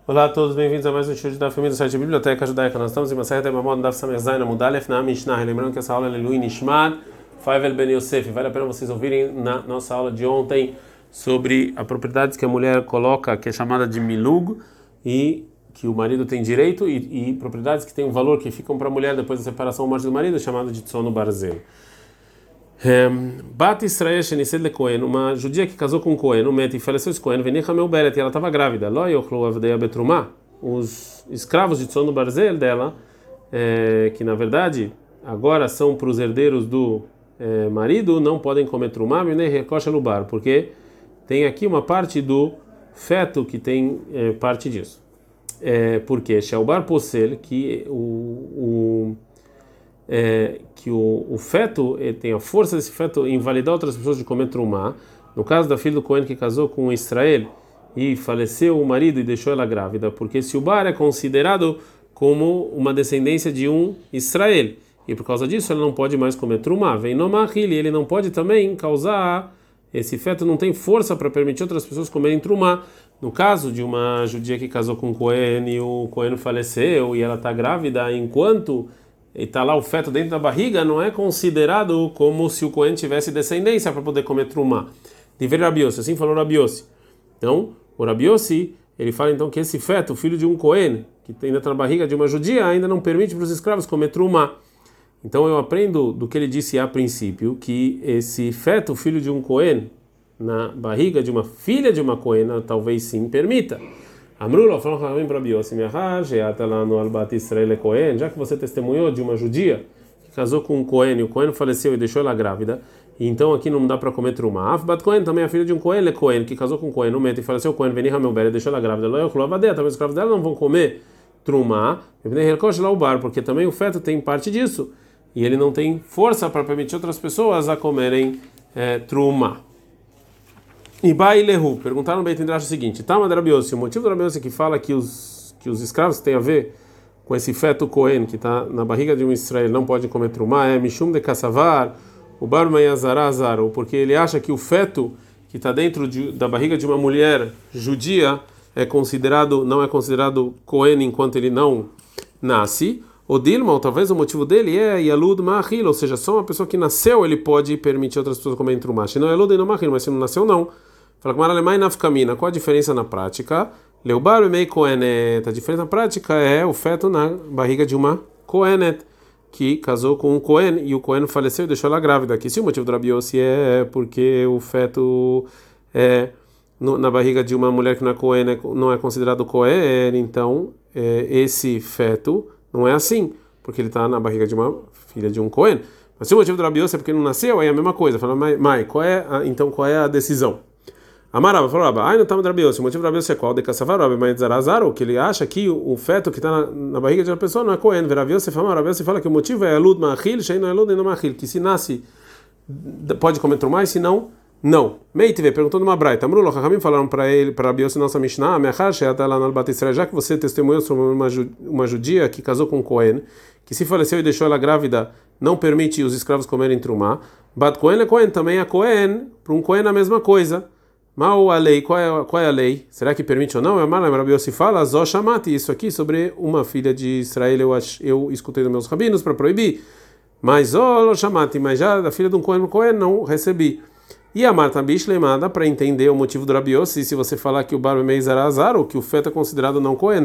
Olá a todos, bem-vindos a mais um show da família do site Biblioteca Judaica. Nós estamos em uma certa Mamod Daf Samer Zayin Amud Aleph na Mishnah. Lembrando que essa aula é Lui Nishmat Faivel Ben Yosef. Vale a pena vocês ouvirem na nossa aula de ontem sobre as propriedades que a mulher coloca, que é chamada de milug, e que o marido tem direito, e propriedades que têm um valor que ficam para a mulher depois da separação do marido, chamado de Tzono Barzel. Bat Israel Shenised le Cohen, uma judia que casou com um Cohen, um mete e faleceu esse Cohen, Venicha meu Beret, e ela estava grávida. Lo yochlu avdei betrumah, os escravos de Tzono Barzel dela, que na verdade agora são para os herdeiros do marido, não podem comer trumah, nem recocha lubar, porque tem aqui uma parte do feto que tem parte disso. Porque Shelbar Posel, que o feto tem a força desse feto em invalidar outras pessoas de comer trumá. No caso da filha do Cohen que casou com Israel e faleceu o marido e deixou ela grávida, porque se o bar é considerado como uma descendência de um Israel, e por causa disso ela não pode mais comer trumá. Vem no mahil, ele não pode também causar, esse feto não tem força para permitir outras pessoas comerem trumá. No caso de uma judia que casou com um Cohen e o Cohen faleceu e ela está grávida enquanto está lá o feto dentro da barriga, não é considerado como se o Cohen tivesse descendência para poder comer trumá. De ver Rabi Yossi, assim falou Rabi Yossi. Então, o Rabi Yossi, ele fala então que esse feto, filho de um Cohen, que ainda está na barriga de uma judia, ainda não permite para os escravos comer trumá. Então eu aprendo do que ele disse a princípio, que esse feto, filho de um Cohen, na barriga de uma filha de uma Cohena, talvez sim permita. Amrullah falou para Rabi Yossi, já que você testemunhou de uma judia que casou com um Cohen e o Cohen faleceu e deixou ela grávida, então aqui não dá para comer trumá. Afbat Cohen também é filho de um Cohen, Cohen que casou com um Cohen, no mete e faleceu o Cohen, Venicha meu Beret, deixou ela grávida. Talvez os escravos dela não vão comer trumá, porque também o feto tem parte disso e ele não tem força para permitir outras pessoas a comerem trumá. E Bailehu, perguntaram no Beit Midrash o seguinte: Tama de Rabi Yossi, o motivo do Rabi Yossi que fala que os escravos têm a ver com esse feto Cohen que está na barriga de um Israel não pode comer trumá, é Mishum de Kassavar, o Bar Mayazara Azar, ou porque ele acha que o feto que está dentro da barriga de uma mulher judia não é considerado Cohen enquanto ele não nasce. O Dilma, ou talvez o motivo dele é Yalud Mahil, ou seja, só uma pessoa que nasceu ele pode permitir outras pessoas comerem trumá. Se não é Yalud e não Mahil, mas se não nasceu, não. Fala com Alemã e Nafkamina. Qual a diferença na prática? Leubar e Mei Kohenet. A diferença na prática é o feto na barriga de uma Kohenet, que casou com um Cohen e o Cohen faleceu e deixou ela grávida. Aqui, se o motivo do Rabi Yossi é porque o feto na barriga de uma mulher que não é considerado Cohen, então esse feto não é assim, porque ele está na barriga de uma filha de um Cohen. Mas se o motivo do Rabi Yossi é porque não nasceu, aí é a mesma coisa. Fala, mas qual é a decisão? Amarava falou, não está no Rabi Yossi. O motivo do Rabi Yossi é qual? De Kassavar, mas Zarazaro, que ele acha que o feto que está na barriga de uma pessoa não é Cohen. Rabi Yossi fala que o motivo é Elud Mahil, Shein não Elud e não Mahil, que se nasce pode comer trumá, se não. Meitive perguntou numa braita. Amrullah, Chachamim falaram para ele, para Rabi Yossi, nossa Mishnah, já que você testemunhou sobre uma judia que casou com um Cohen, que se faleceu e deixou ela grávida, não permite os escravos comerem trumá. Bat Cohen é Cohen, também é Cohen, para um Cohen é a mesma coisa. Mal a lei, qual é a lei? Será que permite ou não? Rabi Yossi fala, Zó Shamati, isso aqui sobre uma filha de Israel, eu escutei dos meus rabinos para proibir, mas Zó Shamati, mas já da filha de um Cohen não recebi. E a Marta Bishleimada, para entender o motivo do Rabi Yossi, se você falar que o Bar Meizar Azar, ou que o feto é considerado não Cohen,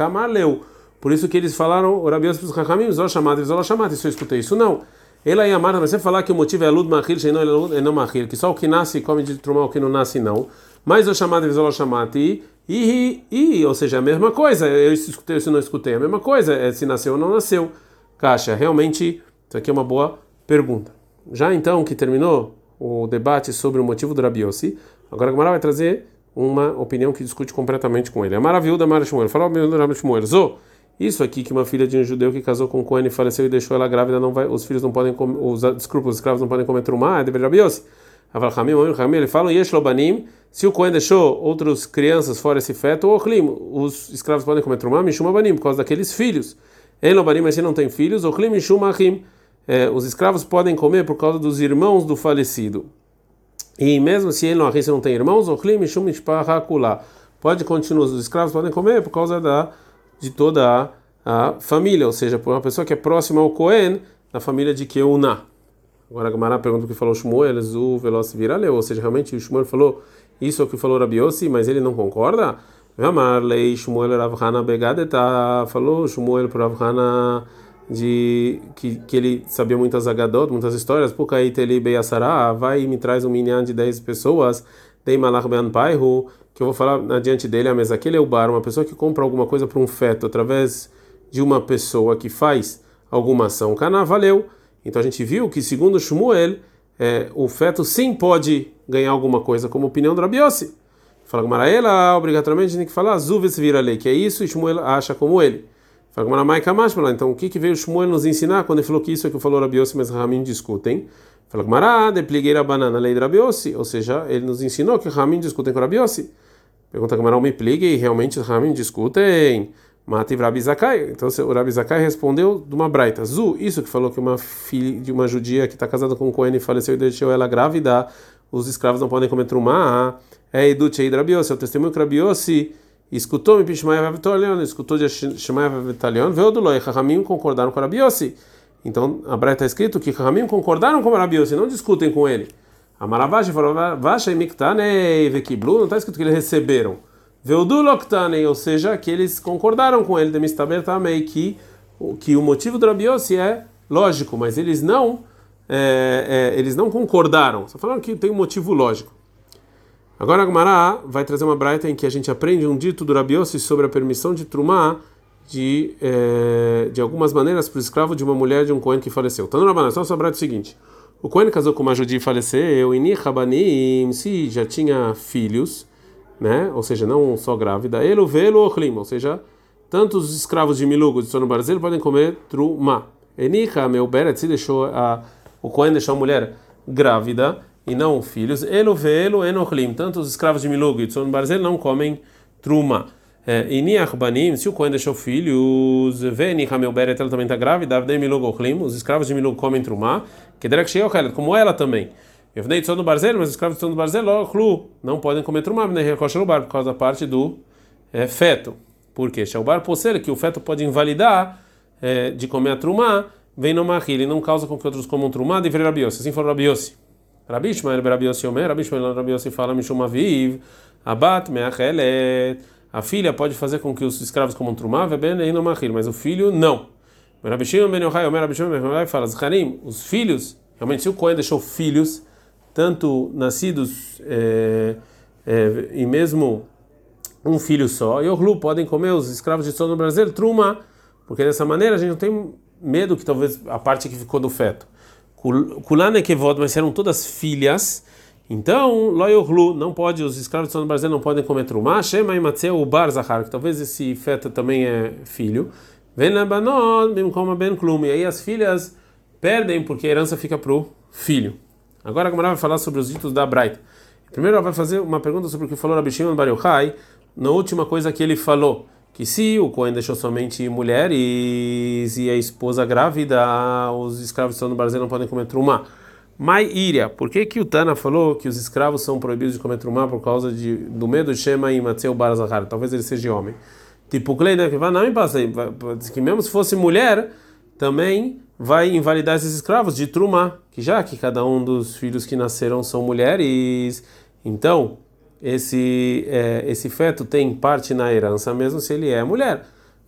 por isso que eles falaram, o Rabi Yossi para os Chachamim, Zó Shamati, Zó Shamati, se eu escutei isso, não. Ela e a Marta, você falar que o motivo é Lud Mahil, não Mahil, que só o que nasce come de trumá, o que não nasce não. Mas o chamado de Zó Shamati, ou seja, a mesma coisa, eu escutei, se não escutei, a mesma coisa, se nasceu ou não nasceu. Caixa, realmente, isso aqui é uma boa pergunta. Já então que terminou o debate sobre o motivo do Rabi Yossi, agora a Gemara vai trazer uma opinião que discute completamente com ele. A maravilha da Mara Shmuel, fala o Rabi Shmuel, isso aqui que uma filha de um judeu que casou com um Cohen e faleceu e deixou ela grávida, os filhos não podem comer, os escravos não podem comer trumá, é dever Rabi Yossi. Ele fala, Yesh Lobanim, se o Cohen deixou outras crianças fora esse feto, os escravos podem comer trumá, Mishum Abanim, por causa daqueles filhos. En Lobanim, mas se não tem filhos, Ochlim Mishum Achim, os escravos podem comer por causa dos irmãos do falecido. E mesmo se ele não tem irmãos, pode continuar, os escravos podem comer por causa de toda a família, ou seja, por uma pessoa que é próxima ao Cohen, da família de Keuná. Agora a Gemara pergunta o que falou Shmuel, Zu Veloz Viraleu, ou seja, realmente o Shmuel falou isso é o que falou Rabi Yossi, mas ele não concorda? Amarlei Shmuel Rav Hana Begadeta, falou Shmuel para Rav Hana que ele sabia muitas agadot, muitas histórias, Pukai Teli Beyasara, vai e me traz um minyan de 10 pessoas, Dei Malach Ben Paihu, que eu vou falar adiante dele, a mesa aquele é o bar, uma pessoa que compra alguma coisa para um feto através de uma pessoa que faz alguma ação, Cana, valeu. Então a gente viu que segundo Shmuel, o feto sim pode ganhar alguma coisa, como opinião do Rabi Yossi. Fala Gemara, ela obrigatoriamente tem que falar Zuves vira lei, que é isso, e Shmuel acha como ele. Fala Gemara, Mai Kamash, então o que veio Shmuel nos ensinar quando ele falou que isso é que falou Rabi Yossi, mas Ramim discutem? Fala Gemara, depligueira banana, lei de Rabi Yossi, ou seja, ele nos ensinou que Ramim discutem com Rabi Yossi. Pergunta Gemara, me pligue, e realmente Ramim discutem. Mati Rabi Zakai. Então o Rabi Zakai respondeu de uma braita. Zu, isso que falou que uma filha de uma judia que está casada com um Cohen e faleceu e deixou ela grávida, os escravos não podem comer trumá. É Edut Eid Rabi Yossi, é o testemunho que Rabi Yossi escutou me Pishmaya Vavitalion, escutou de Shemaya Vavitalion, veio do Loi. Rahamim concordaram com Rabi Yossi. Então a braita está escrito que Rahamim concordaram com Rabi Yossi, não discutem com ele. Amaravashi falou, Vasha e Miktane Vekiblu, não está escrito que eles receberam. Veuduloktanen, ou seja, que eles concordaram com ele, Demistaber também, que o motivo do Rabi Yossi é lógico, mas eles não concordaram. Só falaram que tem um motivo lógico. Agora a Gemara vai trazer uma braita em que a gente aprende um dito do Rabi Yossi sobre a permissão de trumá de algumas maneiras para o escravo de uma mulher de um Cohen que faleceu. Então, no Rabanan, só a braita é o seguinte: o Cohen casou com uma judia e faleceu, e Rabanim, se já tinha filhos, né? Ou seja, não só grávida, elo velo ochlim, ou seja, tanto os escravos de Milugo de Sono Barzel podem comer truma. Enicha meu beret se deixou o Cohen deixou a mulher grávida e não filhos, elo velo enochlim, tanto os escravos de Milugo e de Sono Barzel não comem truma. Eniach banim, se o Cohen deixou filhos, venicha meu beret ela também está grávida, avdei Milugo ochlim, os escravos de Milugo comem truma, que derek sheio como ela também. Eu venei de Sono Barzel, mas os escravos de Sono Barzel não podem comer trumá, por causa da parte do feto. Por quê? Shaubar posser, que o feto pode invalidar de comer a trumá, vem no mahil, ele não causa com que outros comam trumá, deveria Rabi Yossi. Assim falou Rabi Yossi. Rabi Ishmael, Rabi Yossi Omer, Rabi Ishmael, Rabi Yossi fala, Mishum aviv, abat meachelet, a filha pode fazer com que os escravos comam trumá, veben no mahil, mas o filho não. Rabi Shimon ben Yochai, Omer, Rabi Shimon ben Yochai fala, Zacharim, os filhos, realmente se o Cohen deixou filhos, tanto nascidos e mesmo um filho só, e Orlu podem comer os escravos de Sono Barzel truma, porque dessa maneira a gente não tem medo que talvez a parte que ficou do feto. Kulane Kevod, mas eram todas filhas, então Loi Orlu não pode, os escravos de Sono Barzel não podem comer truma, Shema e Matzeu o Bar Zahar, que talvez esse feto também é filho, Ven Labanot, bem como Ben Klum, e aí as filhas perdem porque a herança fica pro filho. Agora a Gemara vai falar sobre os ditos da Braita. Primeiro ela vai fazer uma pergunta sobre o que falou Rabi Shimon bar Yochai, na última coisa que ele falou, que se o Cohen deixou somente mulheres e a esposa grávida, os escravos de Sono Barzel não podem comer trumá. Mai Iria, por que o Tana falou que os escravos são proibidos de comer trumá por causa do medo de Shema e Matzeu bar Zahar? Talvez ele seja homem. Tipo, Kleina, que vai não me passa, que mesmo se fosse mulher, também vai invalidar esses escravos de trumá, que já que cada um dos filhos que nasceram são mulheres, então esse feto tem parte na herança mesmo se ele é mulher.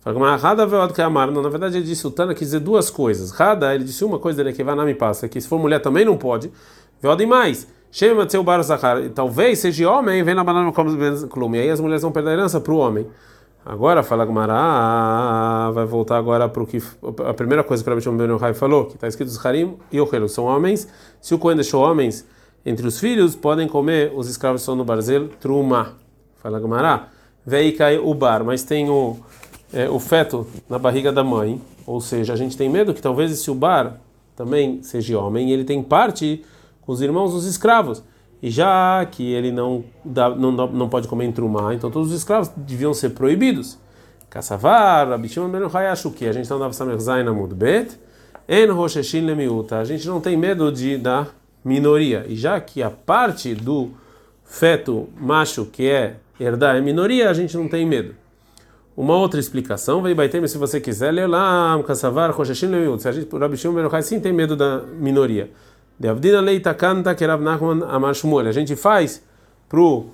Não, na verdade ele disse, o Tana quis dizer duas coisas. Rada, ele disse uma coisa, ele que vai não me passa, que se for mulher também não pode. E mais, chama seu bar Zahar, talvez seja homem, vem na banana como clume, aí as mulheres vão perder a herança para o homem. Agora fala Gemara, vai voltar agora para o que a primeira coisa que o Rabi Shimon ben Yochai falou, que está escrito Zacharim e Ochelu, são homens. Se o Cohen deixou homens entre os filhos, podem comer os escravos de Sono Barzel truma. Fala Gemara, vei cai o bar, mas tem o feto na barriga da mãe, ou seja, a gente tem medo que talvez esse bar também seja homem e ele tem parte com os irmãos dos escravos. E já que ele não pode comer em trumá, então todos os escravos deviam ser proibidos. Kassavar, Rabi Shimon ben Yochai acha o quê? A gente não dava samer zain amud bet, en rosheshin lemiuta. A gente não tem medo da minoria. E já que a parte do feto macho que é herdar é minoria, a gente não tem medo. Uma outra explicação, veio Baitem, se você quiser, ler lá, Kassavar, Roshashin, Leuyut. Se a gente, por Rabi Shimon ben Yochai, sim tem medo da minoria. De Avdina Leita Kanta, que Rav Nachman Amar Shmuel. A gente faz pro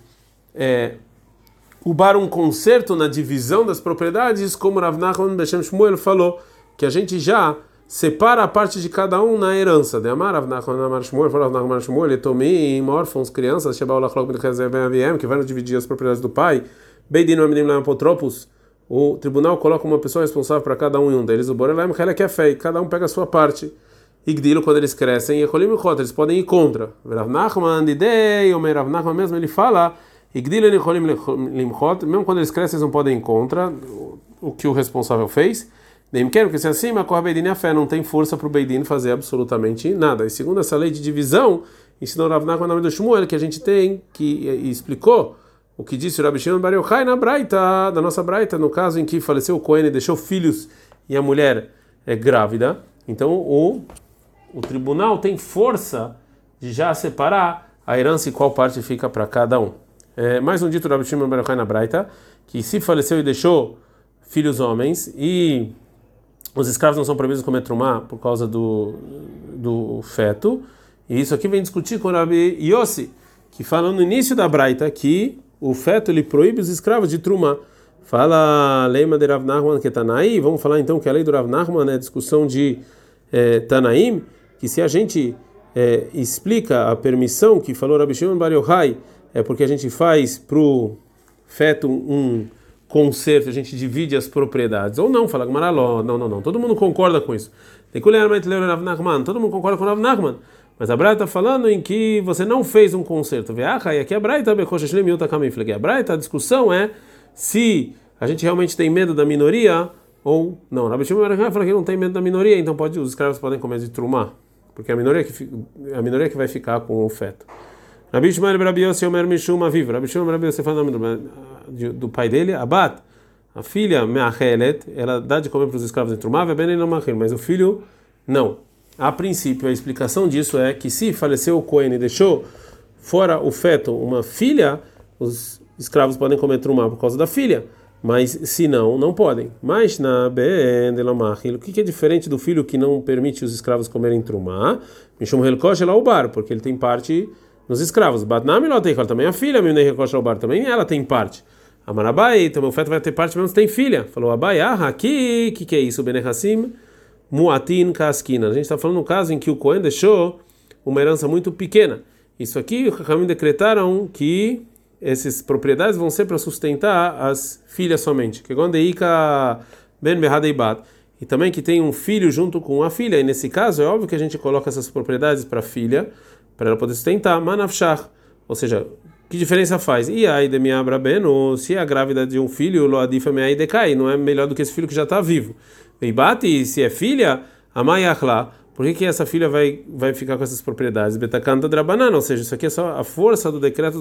o bar um conserto na divisão das propriedades, como Rav Nachman Beshem Shmuel falou, que a gente já separa a parte de cada um na herança. De Amar Rav Nachman Amar Shmuel, falou Rav Nachman Amar Shmuel, Etomim, órfãos, crianças, Shebao Lachlok Ben Chezer Ben Aviem, que vai dividir as propriedades do pai, Beidin Amidim Lam Apotropos. O tribunal coloca uma pessoa responsável para cada um e um deles. O Borelem que é fei, cada um pega a sua parte. Igdilo, quando eles crescem, e Ekolim e eles podem ir contra. Rav Nachman, Didei, o Rav Nachman mesmo, ele fala, Igdilo e Ekolim limchot, mesmo quando eles crescem, eles não podem ir contra o que o responsável fez. Nem quero que se assim, mas corre Beidin a fé, não tem força para o Beidin fazer absolutamente nada. E segundo essa lei de divisão, ensinou Rav Nachman no nome do Shmuel, que a gente tem, que explicou o que disse o Rabi Shimon ben Yochai na Braita, da nossa Braita, no caso em que faleceu o Cohen e deixou filhos e a mulher é grávida. Então o tribunal tem força de já separar a herança e qual parte fica para cada um. Mais um dito do Rabi Shimon ben Yochai na Braita, que se faleceu e deixou filhos homens e os escravos não são proibidos de comer trumá por causa do feto, e isso aqui vem discutir com o Rabi Yossi, que fala no início da Braita que o feto ele proíbe os escravos de trumá. Fala Leima de Rav Nachman que Tanaí. Vamos falar então que a lei do Rav Nachman é a discussão de Tanaim, que se a gente explica a permissão que falou Rabi Shimon bar Yochai, é porque a gente faz pro feto um conserto, a gente divide as propriedades. Ou não, fala Gmaraló, não. Todo mundo concorda com isso. Todo mundo concorda com o Rav Nachman. Mas a Braita está falando em que você não fez um conserto. E aqui a Braita, a Braita, a discussão é se a gente realmente tem medo da minoria ou não. Rabi Shimon fala que não tem medo da minoria, então os escravos podem comer de trumá, porque a minoria que vai ficar com o feto. Rabi Shimon Rabi Yossi Omer Mishum Aviv. Rabi Shimon Rabi Yossi fala o nome do pai dele, Abat, a filha Meachelet, ela dá de comer para os escravos de trumá, mas o filho não. A princípio, a explicação disso é que se faleceu o Cohen e deixou fora o feto uma filha, os escravos podem comer trumá por causa da filha, mas se não, não podem. Mas na Ben de Lamachil, o que é diferente do filho que não permite os escravos comerem trumá? Mishum Helkosh Elaubar, porque ele tem parte nos escravos. Batnami Loteikal, também a filha, Mimnei Helkosh Elaubar, também ela tem parte. Amarabai, também o feto vai ter parte mesmo se tem filha. Falou Abai, aqui, que é isso? Benechassim Muatin Kaskina. A gente está falando no caso em que o Cohen deixou uma herança muito pequena. Isso aqui, os Chachamim decretaram que essas propriedades vão ser para sustentar as filhas somente. Que Gondeika Ben Behadeibat. E também que tem um filho junto com a filha. E nesse caso, é óbvio que a gente coloca essas propriedades para a filha, para ela poder sustentar. Manafshach. Ou seja, que diferença faz? E aí de Miabra Ben, ou se é a grávida de um filho, Loadifa Meai decai, não é melhor do que esse filho que já está vivo. E bate, se é filha, a Mayachla, por que essa filha vai ficar com essas propriedades? Betacanta drabanana, ou seja, isso aqui é só a força do decreto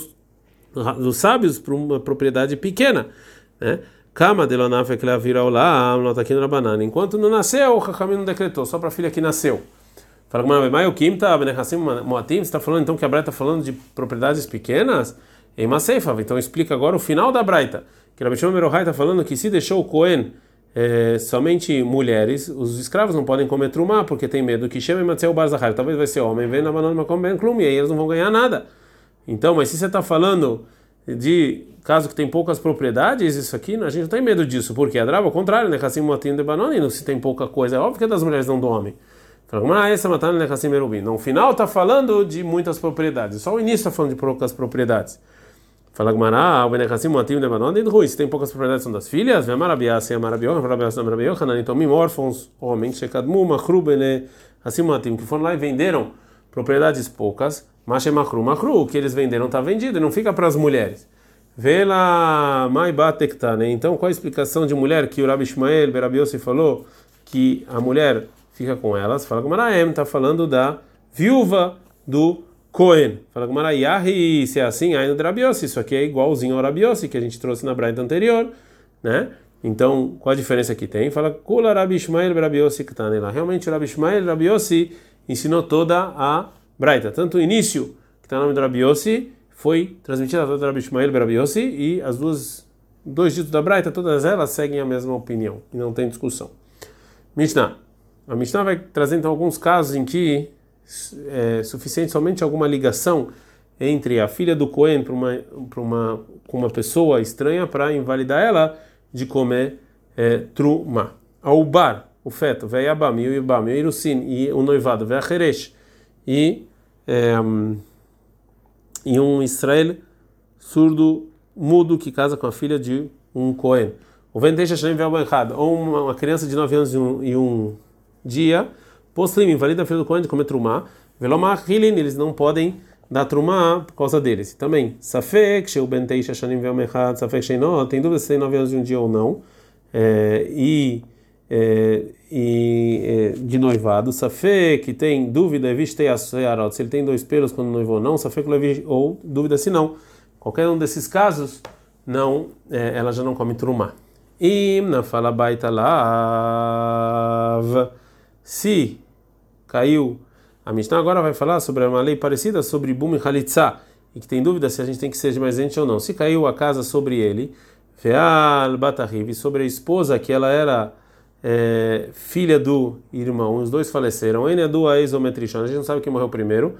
dos sábios para uma propriedade pequena, né? Kama de Lonafe que ela vira lá, nota aqui no Rabanana. Enquanto não nasceu, o Chachamim não decretou, só para a filha que nasceu. Fala que mas o Kim tá Benechassim Moatim, você está falando então que a Braita está falando de propriedades pequenas? Em Maseifa, então explica agora o final da Braita, que Rabi Shimon ben Yochai está falando que se deixou o Cohen somente mulheres, os escravos não podem comer trumá porque tem medo que chame Matzeu Bar Zahar, talvez vai ser homem, vem na banana Makom Ben Klum, e aí eles não vão ganhar nada. Então, mas se você está falando de caso que tem poucas propriedades, isso aqui a gente não tem medo disso, porque a Drava, ao contrário, né? Cassim Moatim de Banana, se tem pouca coisa, é óbvio que é das mulheres, não do homem. Essa matando né? Cassim Merubim. No final está falando de muitas propriedades, só o início está falando de poucas propriedades. Fala Gmará, o Benechassim Moatim de Banana e Rui, se tem poucas propriedades são das filhas, vem Marabiá, se é Marabiohan, Marabiohan, Anitomim, órfãos, homens, Shekadmu, Machru, Bene, Assim Moatim, que foram lá e venderam propriedades poucas, Mashe Machru, o que eles venderam está vendido e não fica para as mulheres. Vê lá, Mai Batekta, né? Então qual a explicação de mulher que o Rabi Ishmael Berabi Yossi falou que a mulher fica com elas? Fala Gmará, está falando da viúva do Cohen. Fala Gmará, Yahi, se é assim, aí no Rabi Yossi, isso aqui é igualzinho ao Rabi Yossi que a gente trouxe na Braita anterior, né? Então, qual a diferença que tem? Fala, Kula Rabi Ishmael Berabi Yossi que está lá. Realmente o Rabi Ishmael Berabi Yossi ensinou toda a Braita, tanto o início, que está no nome do Rabi Yossi, foi transmitida a Rabi Ishmael Berabi Yossi, e as dois ditos da Braita, todas elas seguem a mesma opinião, e não tem discussão. Mishnah. A Mishnah vai trazer então alguns casos em que é suficiente somente alguma ligação entre a filha do Cohen com uma pessoa estranha para invalidar ela de comer truma. Ao bar, o feto, ve'yabam, e o ibam, e o irusin, e o noivado, ve'acheresh, e um Israel surdo, mudo, que casa com a filha de um Cohen. O venteixa shnem ve'abenchad, ou uma criança de 9 anos e um dia, poslim, invalida a filha do Cohen de comer truma, velomar hilin, eles não podem dar truma por causa deles. Também, safek, sheu benteixa shnem ve'abenchad, safek sheino, tem dúvida se tem 9 anos e um dia ou não, de noivado, safek, que tem dúvida, se ele tem 2 pelos quando noivou ou não, safek ou dúvida se não. Qualquer um desses casos, não, ela já não come truma. E na fala baita lav, se caiu, a Mishnah agora vai falar sobre uma lei parecida sobre bum e halitzá, e que tem dúvida se a gente tem que ser mais gente ou não. Se caiu a casa sobre ele, veal batariv, sobre a esposa que ela era filha do irmão, os dois faleceram, a gente não sabe quem morreu primeiro.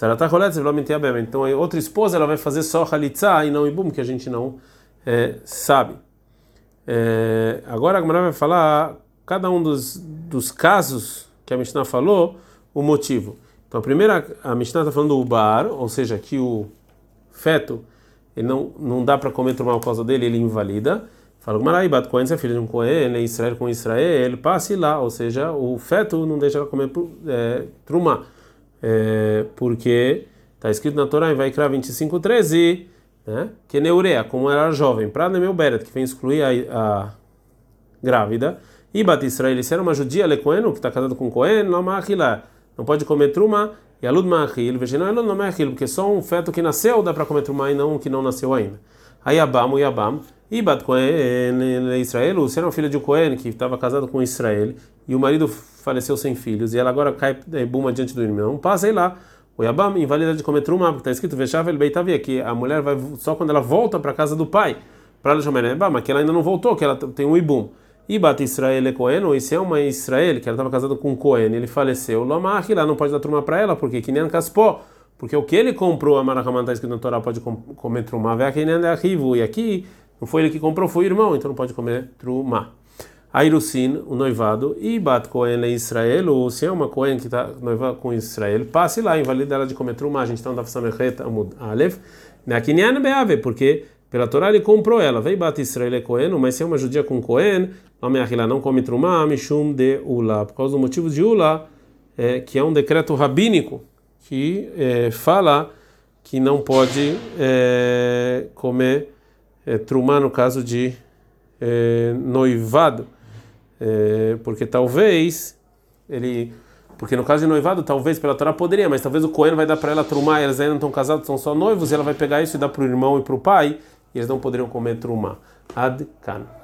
Então a outra esposa ela vai fazer só halitzá e não ibum, que a gente não sabe. Agora a Gemara vai falar cada um dos casos que a Mishnah falou, o motivo. Então a Mishnah está falando do bar, ou seja, que o feto ele não dá para comer truma por causa dele, ele invalida. Fala o Gemara, Bat Cohen, se é filho de um Cohen, é Israel com Israel, passe lá, ou seja, o feto não deixa ela comer truma. Porque está escrito na Torá em Vaikra 25:13, né? Que neurea, como era jovem, para meu beret, que vem excluir a grávida, e Bat Israel, se era uma judia, lecoeno, que está casado com Cohen, não pode comer truma, e alud ma'achil, vejam, não ma'achil, porque só um feto que nasceu dá para comer truma e não um que não nasceu ainda. Aí Yabam, o Yabam, e Bat Cohen, Israel, se era uma filha de um Cohen que estava casado com Israel, e o marido faleceu sem filhos, e ela agora cai buma diante do irmão, passa aí lá. O Yabam invalida de comer truma, porque está escrito Veshavel Beitavia, que a mulher vai só quando ela volta para a casa do pai, para ela chamar Yabam, mas que ela ainda não voltou, que ela tem um ibum. E Bat Israel é Cohen, e se é uma Israel, que ela estava casada com um Cohen, ele faleceu, Lomach, lá não pode dar truma para ela, porque que nem Kaspó, porque o que ele comprou, a Marahaman está escrito na Torá, pode comer truma, e aqui não foi ele que comprou, foi o irmão, então não pode comer truma. A Irusin, o noivado, e Bat Cohen é Israel, ou se é uma Cohen que está noiva com Israel, passe lá, invalida ela de comer truma, a gente está no Daf Samechet Amud Aleph, Neakinyan Beave, porque pela Torá ele comprou ela, veio Bat Israel é Cohen, mas se é uma judia com Cohen, não come truma, mishum de ula, por causa do motivo de ula, que é um decreto rabínico, que fala que não pode comer truma no caso de noivado. Porque talvez porque no caso de noivado talvez pela Torá poderia, mas talvez o Cohen vai dar para ela truma, eles ainda não estão casados, são só noivos, e ela vai pegar isso e dar para o irmão e para o pai, e eles não poderiam comer truma. Ad kan.